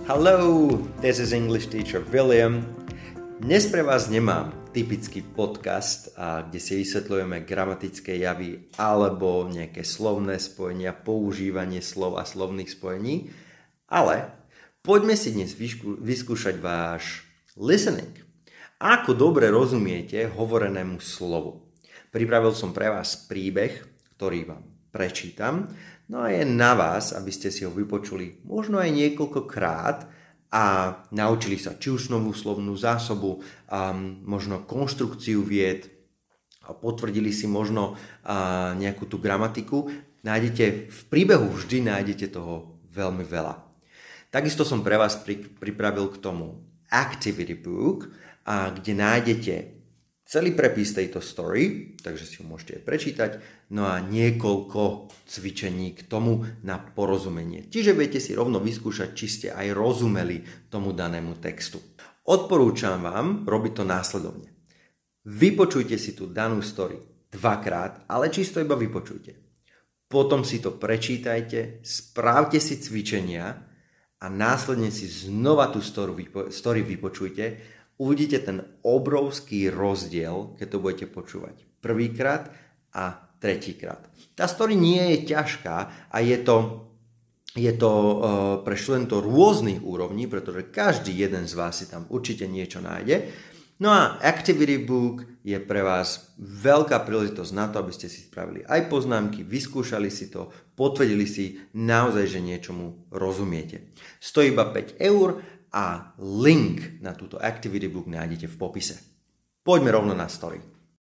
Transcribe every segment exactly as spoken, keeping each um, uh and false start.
Hello, this is English teacher William. Dnes pre vás nemám typický podcast, kde si vysvetľujeme gramatické javy alebo nejaké slovné spojenia, používanie slov a slovných spojení, ale poďme si dnes vyskú- vyskúšať váš listening. Ako dobre rozumiete hovorenému slovu. Pripravil som pre vás príbeh, ktorý vám prečítam. No a je na vás, aby ste si ho vypočuli možno aj niekoľkokrát a naučili sa či už novú slovnú zásobu, um, možno konštrukciu vied, a potvrdili si možno uh, nejakú tú gramatiku. Nájdete, v príbehu vždy nájdete toho veľmi veľa. Takisto som pre vás pri, pripravil k tomu activity book, a kde nájdete celý prepis tejto story, takže si ho môžete aj prečítať, no a niekoľko cvičení k tomu na porozumenie. Čiže viete si rovno vyskúšať, či ste aj rozumeli tomu danému textu. Odporúčam vám robiť to následovne. Vypočujte si tú danú story dvakrát, ale čisto iba vypočujte. Potom si to prečítajte, správte si cvičenia a následne si znova tú story vypočujte. Uvidíte ten obrovský rozdiel, keď to budete počúvať prvýkrát a tretíkrát. Tá story nie je ťažká a je to, je to uh, pre študentov rôznych úrovní, pretože každý jeden z vás si tam určite niečo nájde. No a Activity Book je pre vás veľká príležitosť na to, aby ste si spravili aj poznámky, vyskúšali si to, potvrdili si naozaj, že niečomu rozumiete. Stojí iba päť eur a link na túto Activity Book nájdete v popise. Poďme rovno na story.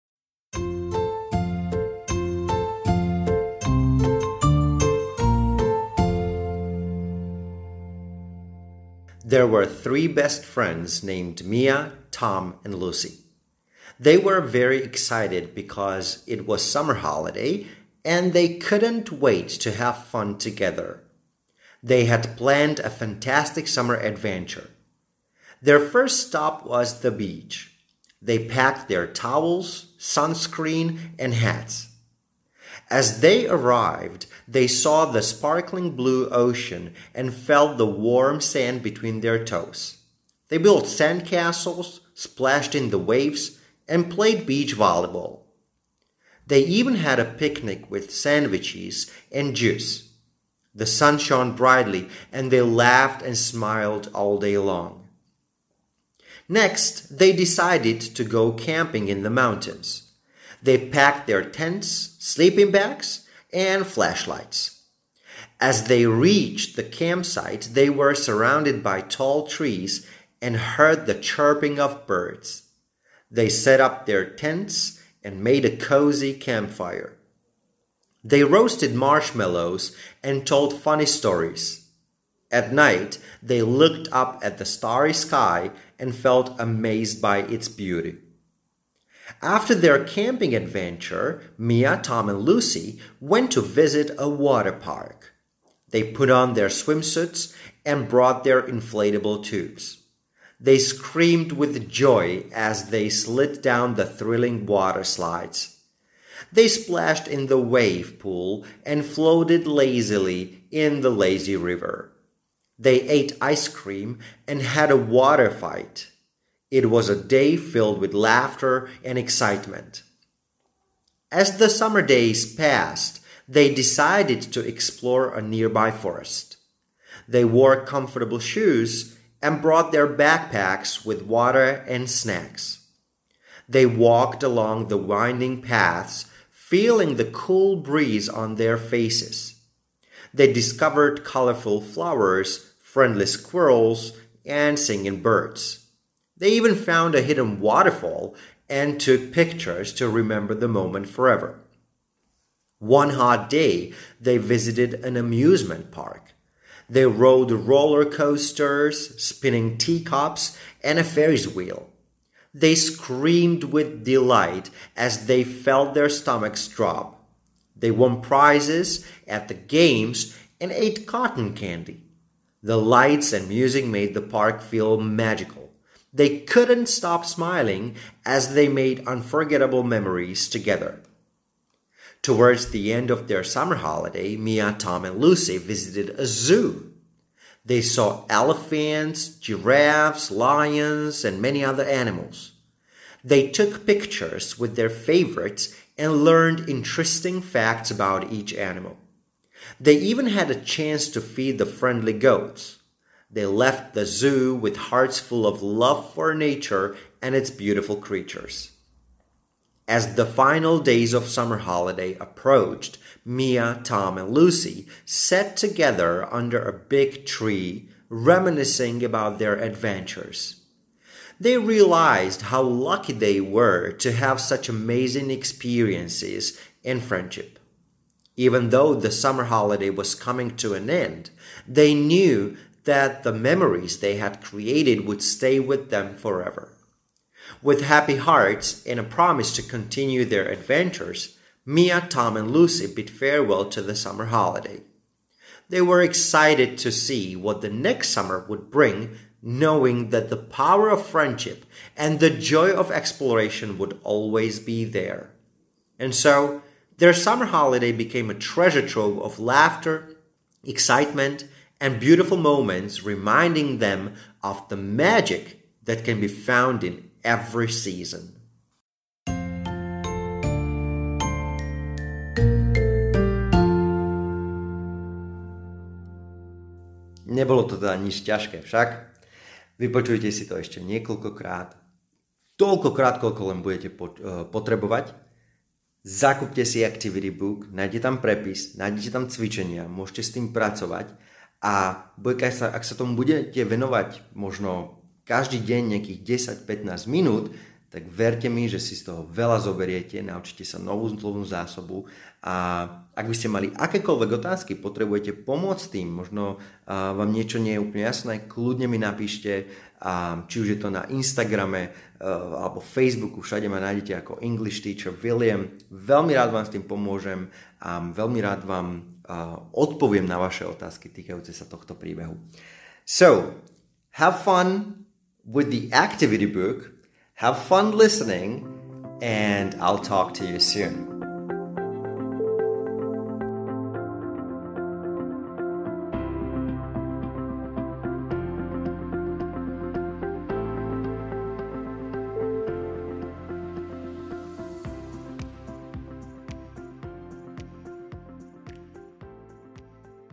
There were three best friends named Mia, Tom, and Lucy. They were very excited because it was summer holiday and they couldn't wait to have fun together. They had planned a fantastic summer adventure. Their first stop was the beach. They packed their towels, sunscreen, and hats. As they arrived, they saw the sparkling blue ocean and felt the warm sand between their toes. They built sandcastles, splashed in the waves, and played beach volleyball. They even had a picnic with sandwiches and juice. The sun shone brightly, and they laughed and smiled all day long. Next, they decided to go camping in the mountains. They packed their tents, sleeping bags, and flashlights. As they reached the campsite, they were surrounded by tall trees and heard the chirping of birds. They set up their tents and made a cozy campfire. They roasted marshmallows and told funny stories. At night, they looked up at the starry sky and felt amazed by its beauty. After their camping adventure, Mia, Tom, and Lucy went to visit a water park. They put on their swimsuits and brought their inflatable tubes. They screamed with joy as they slid down the thrilling water slides. They splashed in the wave pool and floated lazily in the lazy river. They ate ice cream and had a water fight. It was a day filled with laughter and excitement. As the summer days passed, they decided to explore a nearby forest. They wore comfortable shoes and brought their backpacks with water and snacks. They walked along the winding paths, feeling the cool breeze on their faces. They discovered colorful flowers, friendly squirrels, and singing birds. They even found a hidden waterfall and took pictures to remember the moment forever. One hot day, they visited an amusement park. They rode roller coasters, spinning teacups, and a Ferris wheel. They screamed with delight as they felt their stomachs drop. They won prizes at the games and ate cotton candy. The lights and music made the park feel magical. They couldn't stop smiling as they made unforgettable memories together. Towards the end of their summer holiday, Mia, Tom, and Lucy visited a zoo. They saw elephants, giraffes, lions, and many other animals. They took pictures with their favorites and learned interesting facts about each animal. They even had a chance to feed the friendly goats. They left the zoo with hearts full of love for nature and its beautiful creatures. As the final days of summer holiday approached, Mia, Tom, and Lucy sat together under a big tree, reminiscing about their adventures. They realized how lucky they were to have such amazing experiences and friendship. Even though the summer holiday was coming to an end, they knew that the memories they had created would stay with them forever. With happy hearts and a promise to continue their adventures, Mia, Tom, and Lucy bid farewell to the summer holiday. They were excited to see what the next summer would bring, knowing that the power of friendship and the joy of exploration would always be there. And so, their summer holiday became a treasure trove of laughter, excitement, and beautiful moments, reminding them of the magic that can be found in every season. Nebolo to teda nič ťažké však. Vypočujte si to ešte niekoľkokrát. Toľkokrát, koľko len budete potrebovať. Zakúpte si Activity Book, nájdete tam prepis, nájdete tam cvičenia, môžete s tým pracovať a ak sa tomu budete venovať možno každý deň nejakých desať až pätnásť minút, tak verte mi, že si z toho veľa zoberiete, naučíte sa novú slovnú zásobu a ak by ste mali akékoľvek otázky, potrebujete pomôcť tým, možno uh, vám niečo nie je úplne jasné, kľudne mi napíšte, uh, či už je to na Instagrame uh, alebo Facebooku, všade ma nájdete ako English Teacher William. Veľmi rád vám s tým pomôžem a veľmi rád vám uh, odpoviem na vaše otázky týkajúce sa tohto príbehu. So, have fun with the activity book. Have fun listening, and I'll talk to you soon.